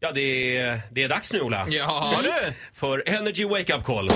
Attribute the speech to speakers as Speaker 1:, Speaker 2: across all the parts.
Speaker 1: Ja, det är dags nu, Ola.
Speaker 2: Ja, du.
Speaker 1: För Energy Wake Up Call.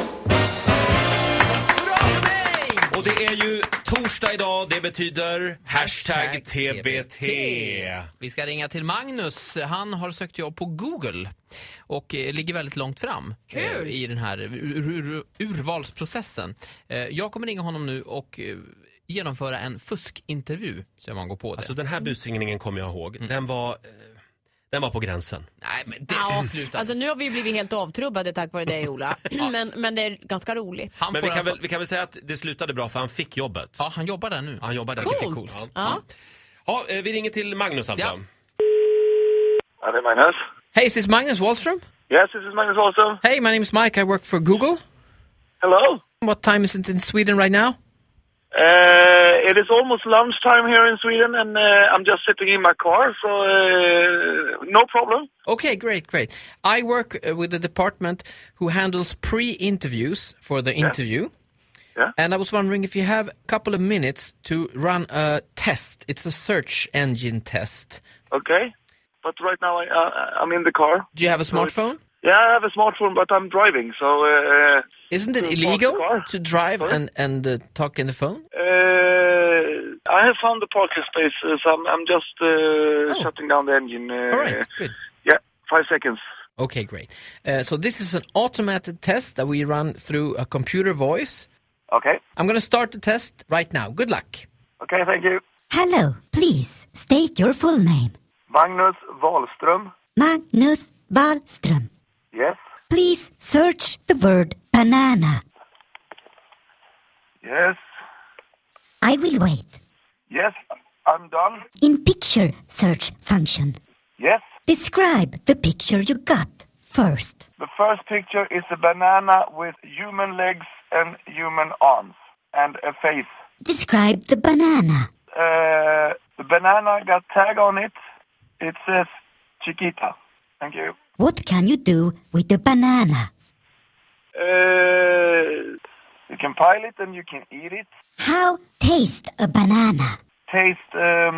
Speaker 1: Och det är ju torsdag idag, det betyder hashtag TBT.
Speaker 2: Vi ska ringa till Magnus. Han har sökt jobb på Google och ligger väldigt långt fram i den här urvalsprocessen. Jag kommer ringa honom nu och genomföra en fuskintervju så man går på det.
Speaker 1: Alltså den här busringningen kommer jag ihåg. Den var på gränsen.
Speaker 2: Nej, men det är slutat.
Speaker 3: Alltså nu har vi blivit helt avtrubbade tack vare dig, Ola. men det är ganska roligt.
Speaker 1: Men vi kan väl säga att det slutade bra för han fick jobbet.
Speaker 2: Ja, han jobbar där nu.
Speaker 1: Han jobbar där.
Speaker 3: Coolt.
Speaker 1: Ja, vi ringer till Magnus alltså.
Speaker 4: Ja, det är Magnus.
Speaker 2: Hey, is this Magnus Wallström?
Speaker 4: Yes, this is Magnus Wallström.
Speaker 2: Hey, my name is Mike. I work for Google.
Speaker 4: Hello.
Speaker 2: What time is it in Sweden right now?
Speaker 4: It is almost lunchtime here in Sweden, and I'm just sitting in my car, so no problem.
Speaker 2: Okay, great. I work with the department who handles pre-interviews for the interview.
Speaker 4: Yeah.
Speaker 2: And I was wondering if you have a couple of minutes to run a test. It's a search engine test.
Speaker 4: Okay, but right now I'm in the car.
Speaker 2: Do you have a smartphone?
Speaker 4: Yeah, I have a smartphone, but I'm driving, so...
Speaker 2: Isn't it illegal to drive and talk in the phone?
Speaker 4: I have found the parking space, so I'm just shutting down the engine.
Speaker 2: All right, good.
Speaker 4: Yeah, 5 seconds.
Speaker 2: Okay, great. So this is an automated test that we run through a computer voice.
Speaker 4: Okay.
Speaker 2: I'm going to start the test right now. Good luck.
Speaker 4: Okay, thank you.
Speaker 5: Hello, please state your full name.
Speaker 4: Magnus Wallström.
Speaker 5: Magnus Wallström.
Speaker 4: Yes.
Speaker 5: Please search the word banana.
Speaker 4: Yes.
Speaker 5: I will wait.
Speaker 4: Yes, I'm done.
Speaker 5: In picture search function,
Speaker 4: Yes.
Speaker 5: describe the picture you got first.
Speaker 4: The first picture is a banana with human legs and human arms and a face.
Speaker 5: Describe the banana.
Speaker 4: The banana got tag on it. It says Chiquita. Thank you.
Speaker 5: What can you do with the banana?
Speaker 4: You can pile it and you can eat it.
Speaker 5: How taste a banana?
Speaker 4: Taste,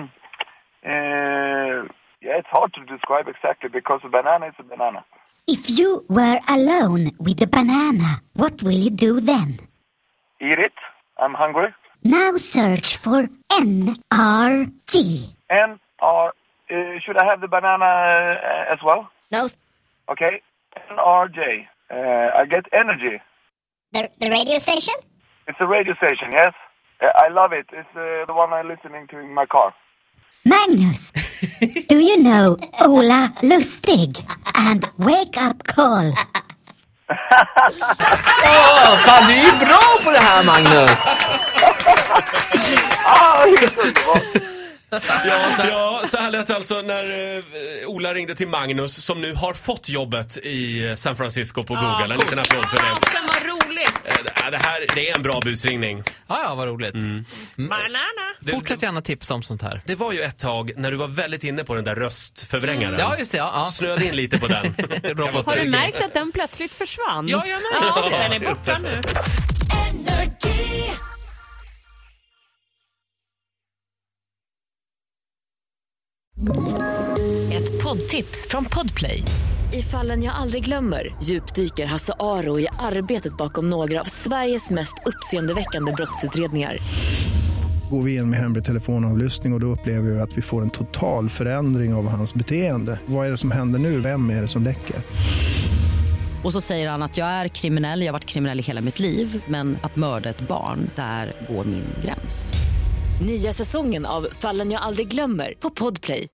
Speaker 4: it's hard to describe exactly because a banana is a banana.
Speaker 5: If you were alone with the banana, what will you do then?
Speaker 4: Eat it. I'm hungry.
Speaker 5: Now search for NRG.
Speaker 4: Should I have the banana as well?
Speaker 5: No.
Speaker 4: Okay. NRJ. I get energy.
Speaker 5: The radio station?
Speaker 4: It's a radio station, yes. I love it. It's the one I'm listening to in my car.
Speaker 5: Magnus, do you know Ola Lustig and Wake Up Call?
Speaker 2: Fan, du är ju bra på det här, Magnus!
Speaker 1: Ja, så här lät alltså när Ola ringde till Magnus som nu har fått jobbet i San Francisco på Google. En liten applåd för det.
Speaker 3: Fasen, vad roligt!
Speaker 1: Det är en bra busringning.
Speaker 2: Ja, vad roligt.
Speaker 3: Banana!
Speaker 2: Fortsätt gärna tipsa om sånt här.
Speaker 1: Det var ju ett tag när du var väldigt inne på den där röstförvrängaren.
Speaker 2: Ja, just det. Ja.
Speaker 1: Snöade in lite på den.
Speaker 3: Har du märkt att den plötsligt försvann?
Speaker 2: Ja, jag märkte det.
Speaker 3: Den är borta nu.
Speaker 6: Ett poddtips från Podplay. I Fallen jag aldrig glömmer djupdyker Hasse Aro i arbetet bakom några av Sveriges mest uppseendeväckande brottsutredningar.
Speaker 7: Går vi in med hemlig telefonavlyssning och då upplever vi att vi får en total förändring av hans beteende. Vad är det som händer nu? Vem är det som läcker?
Speaker 8: Och så säger han att jag är kriminell, jag har varit kriminell i hela mitt liv. Men att mörda ett barn, där går min gräns.
Speaker 6: Nya säsongen av Fallen jag aldrig glömmer på Podplay.